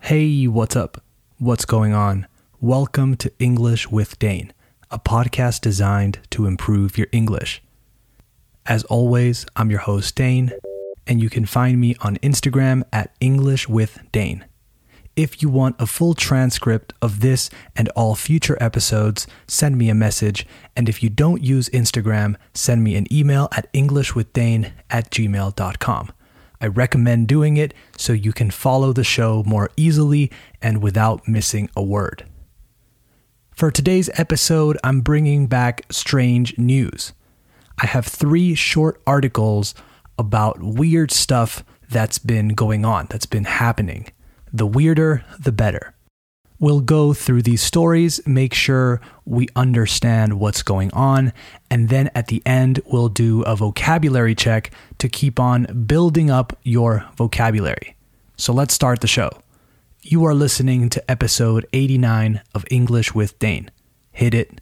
Hey, what's up? What's going on? Welcome to English with Dane, a podcast designed to improve your English. As always, I'm your host, Dane, and you can find me on Instagram at English with Dane. If you want a full transcript of this and all future episodes, send me a message, and if you don't use Instagram, send me an email at englishwithdane@gmail.com. I recommend doing it so you can follow the show more easily and without missing a word. For today's episode, I'm bringing back strange news. I have 3 short articles about weird stuff that's been going on, that's been happening. The weirder, the better. We'll go through these stories, make sure we understand what's going on, and then at the end, we'll do a vocabulary check to keep on building up your vocabulary. So let's start the show. You are listening to episode 89 of English with Dane. Hit it.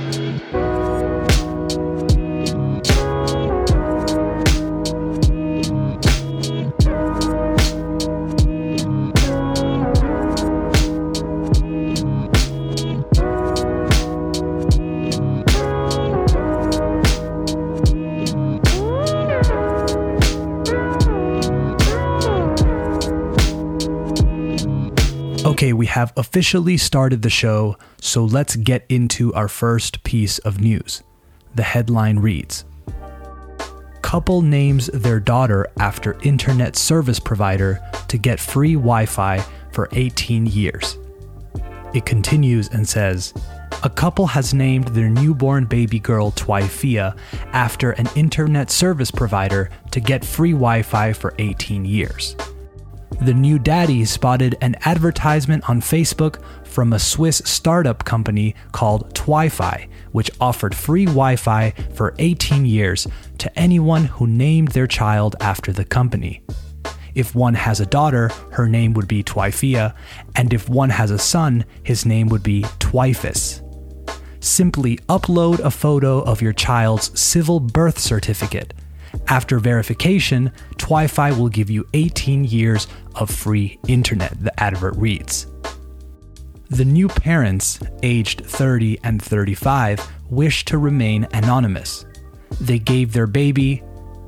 Okay, we have officially started the show, so let's get into our first piece of news. The headline reads, "Couple names their daughter after internet service provider to get free Wi-Fi for 18 years. It continues and says, "A couple has named their newborn baby girl Twyfia after an internet service provider to get free Wi-Fi for 18 years. The new daddy spotted an advertisement on Facebook from a Swiss startup company called Twyfi, which offered free Wi-Fi for 18 years to anyone who named their child after the company. If one has a daughter, her name would be Twyfia, and if one has a son, his name would be Twyfus. Simply upload a photo of your child's civil birth certificate. After verification, Twyfi will give you 18 years of free internet," the advert reads. The new parents, aged 30 and 35, wish to remain anonymous. They gave their baby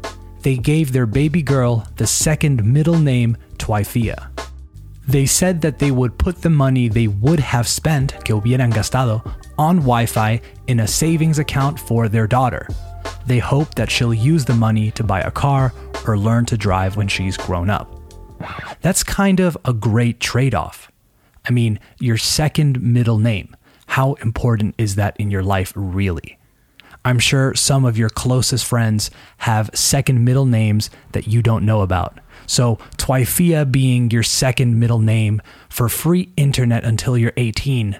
girl the second middle name Twyfia. They said that they would put the money they would have spent, que hubieran gastado, on Wi-Fi in a savings account for their daughter. They hope that she'll use the money to buy a car or learn to drive when she's grown up. That's kind of a great trade-off. I mean, your second middle name. How important is that in your life, really? I'm sure some of your closest friends have second middle names that you don't know about. So Twyfia being your second middle name for free internet until you're 18.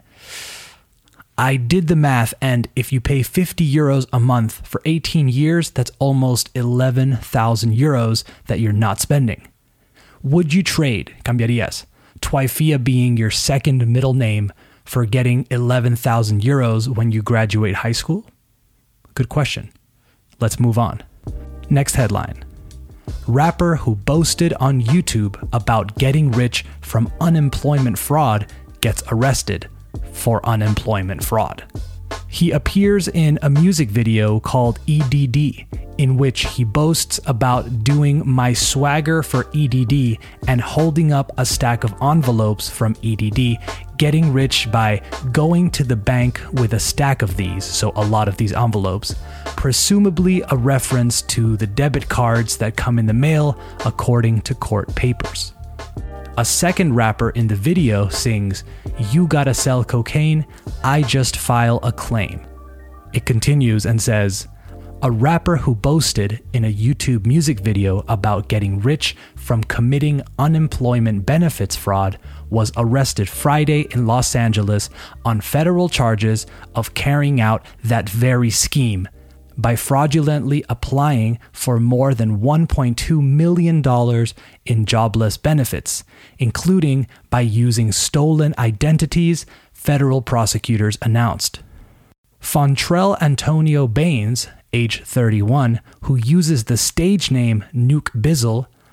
I did the math, and if you pay 50 euros a month for 18 years, that's almost 11,000 euros that you're not spending. Would you trade, cambiarías, Twyfia being your second middle name for getting 11,000 euros when you graduate high school? Good question. Let's move on. Next headline. Rapper who boasted on YouTube about getting rich from unemployment fraud gets arrested for unemployment fraud. He appears in a music video called EDD, in which he boasts about doing My Swagger for EDD and holding up a stack of envelopes from EDD, getting rich by going to the bank with a stack of these, so a lot of these envelopes, presumably a reference to the debit cards that come in the mail according to court papers. A second rapper in the video sings, "You gotta sell cocaine, I just file a claim." It continues and says, a rapper who boasted in a YouTube music video about getting rich from committing unemployment benefits fraud was arrested Friday in Los Angeles on federal charges of carrying out that very scheme by fraudulently applying for more than $1.2 million in jobless benefits, including by using stolen identities, federal prosecutors announced. Fontrell Antonio Baines, age 31, who uses the stage name Nuke Bizzle,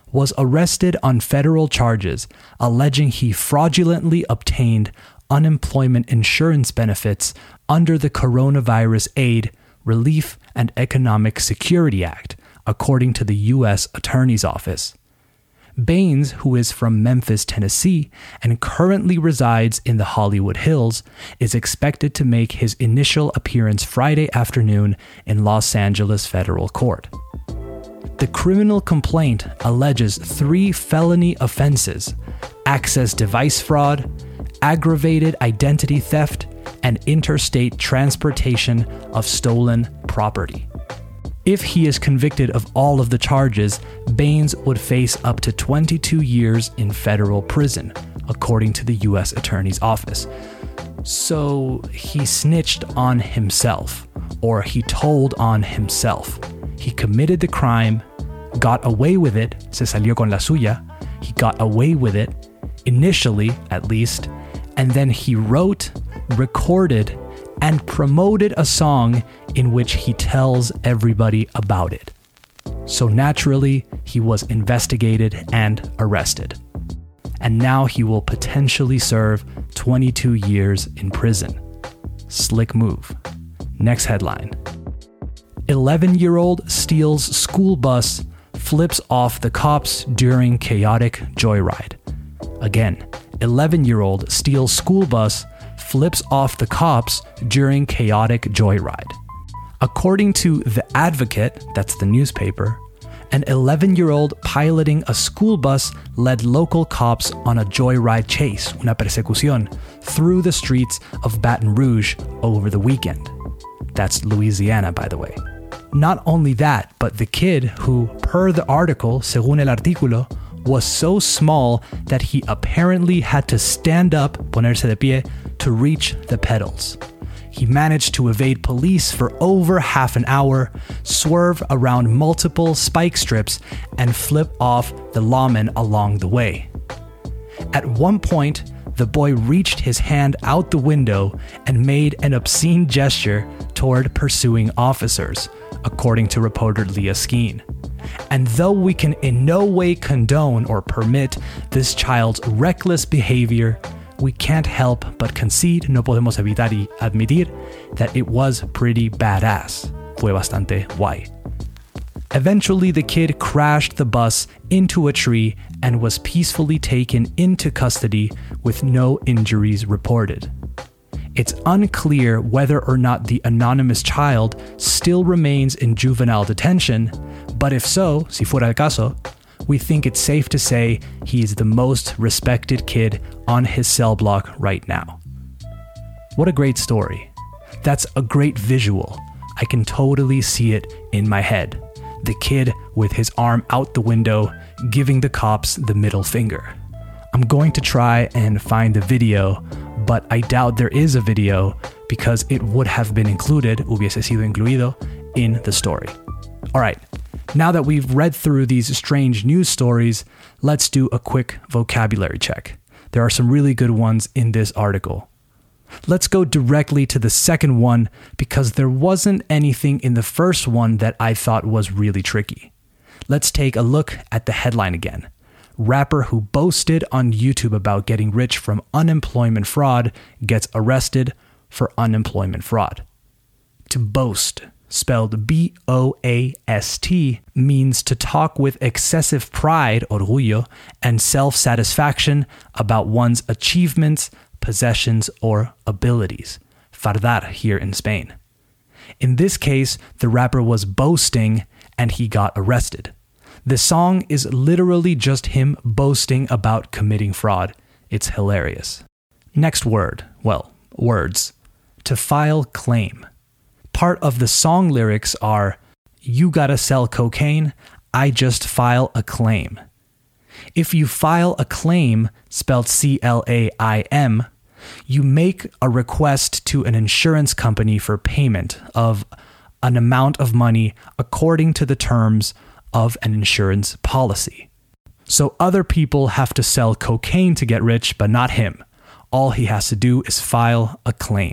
was arrested on federal charges alleging he fraudulently obtained unemployment insurance benefits under the Coronavirus Aid, Relief, and Economic Security Act, according to the U.S. Attorney's Office. Baines, who is from Memphis, Tennessee, and currently resides in the Hollywood Hills, is expected to make his initial appearance Friday afternoon in Los Angeles federal court. The criminal complaint alleges 3 felony offenses: access device fraud, aggravated identity theft, and interstate transportation of stolen property. If he is convicted of all of the charges, Baines would face up to 22 years in federal prison, according to the U.S. Attorney's Office. So he snitched on himself, or he told on himself. He committed the crime, got away with it, se salió con la suya. He got away with it, initially at least, and then he wrote, recorded, and promoted a song in which he tells everybody about it. So naturally, he was investigated and arrested. And now he will potentially serve 22 years in prison. Slick move. Next headline. 11-year-old steals school bus, flips off the cops during chaotic joyride. Again, 11-year-old steals school bus, flips off the cops during chaotic joyride. According to The Advocate, that's the newspaper, an 11-year-old piloting a school bus led local cops on a joyride chase, una persecución, through the streets of Baton Rouge over the weekend. That's Louisiana, by the way. Not only that, but the kid who, per the article, según el artículo, was so small that he apparently had to stand up, ponerse de pie, to reach the pedals. He managed to evade police for over half an hour, swerve around multiple spike strips, and flip off the lawmen along the way. At one point, the boy reached his hand out the window and made an obscene gesture toward pursuing officers, according to reporter Leah Skeen. And though we can in no way condone or permit this child's reckless behavior, we can't help but concede, no podemos evitar y admitir, that it was pretty badass. Fue bastante guay. Eventually, the kid crashed the bus into a tree and was peacefully taken into custody with no injuries reported. It's unclear whether or not the anonymous child still remains in juvenile detention, but if so, si fuera el caso, we think it's safe to say he is the most respected kid on his cell block right now. What a great story. That's a great visual. I can totally see it in my head. The kid with his arm out the window, giving the cops the middle finger. I'm going to try and find the video, but I doubt there is a video because it would have been included, hubiese sido incluido, in the story. All right, now that we've read through these strange news stories, let's do a quick vocabulary check. There are some really good ones in this article. Let's go directly to the second one because there wasn't anything in the first one that I thought was really tricky. Let's take a look at the headline again. Rapper who boasted on YouTube about getting rich from unemployment fraud gets arrested for unemployment fraud. To boast, spelled B-O-A-S-T, means to talk with excessive pride, orgullo, and self-satisfaction about one's achievements, possessions, or abilities. Fardar here in Spain. In this case, the rapper was boasting and he got arrested. The song is literally just him boasting about committing fraud. It's hilarious. Next word, well, words. To file claim. Part of the song lyrics are, "You gotta sell cocaine, I just file a claim." If you file a claim, spelled C-L-A-I-M, you make a request to an insurance company for payment of an amount of money according to the terms of an insurance policy. So other people have to sell cocaine to get rich, but not him. All he has to do is file a claim.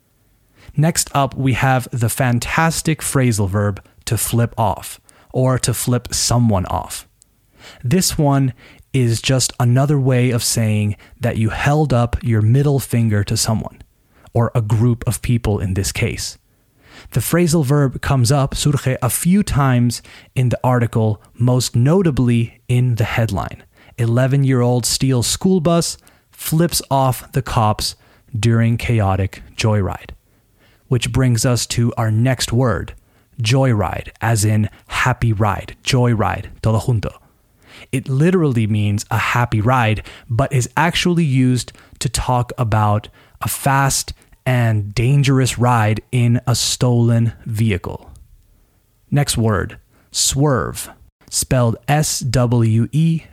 Next up, we have the fantastic phrasal verb to flip off, or to flip someone off. This one is just another way of saying that you held up your middle finger to someone, or a group of people in this case. The phrasal verb comes up, surge, a few times in the article, most notably in the headline. 11-year-old steals school bus, flips off the cops during chaotic joyride. Which brings us to our next word, joyride, as in happy ride, joyride, todo junto. It literally means a happy ride, but is actually used to talk about a fast and dangerous ride in a stolen vehicle. Next word, swerve, spelled S-W-E-R-V-E.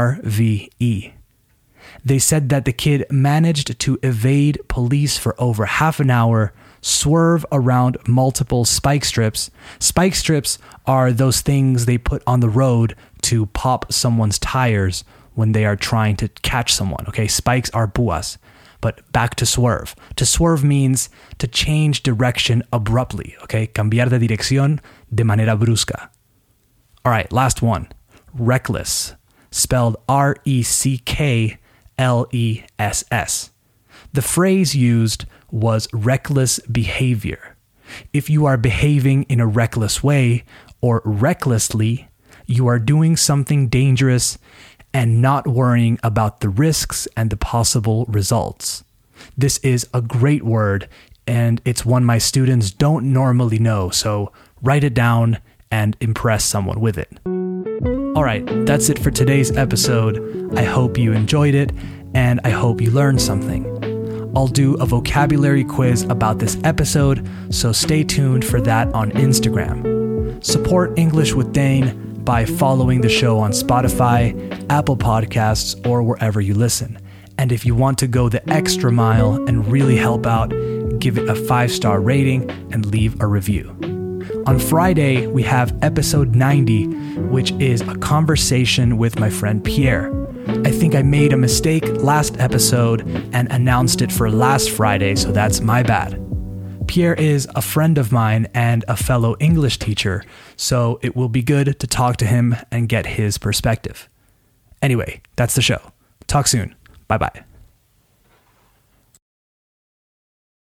They said that the kid managed to evade police for over half an hour, swerve around multiple spike strips. Spike strips are those things they put on the road to pop someone's tires when they are trying to catch someone. Okay, spikes are púas. But back to swerve. To swerve means to change direction abruptly. Okay, cambiar de dirección de manera brusca. All right, last one. Reckless, spelled R-E-C-K-L-E-S-S. The phrase used was reckless behavior. If you are behaving in a reckless way or recklessly, you are doing something dangerous and not worrying about the risks and the possible results. This is a great word, and it's one my students don't normally know, so write it down and impress someone with it. All right, that's it for today's episode. I hope you enjoyed it, and I hope you learned something. I'll do a vocabulary quiz about this episode, so stay tuned for that on Instagram. Support English with Dane by following the show on Spotify, Apple Podcasts, or wherever you listen. And if you want to go the extra mile and really help out, give it a 5-star rating and leave a review. On Friday, we have episode 90, which is a conversation with my friend Pierre. I think I made a mistake last episode and announced it for last Friday, so that's my bad. Pierre is a friend of mine and a fellow English teacher, so it will be good to talk to him and get his perspective. Anyway, that's the show. Talk soon. Bye-bye.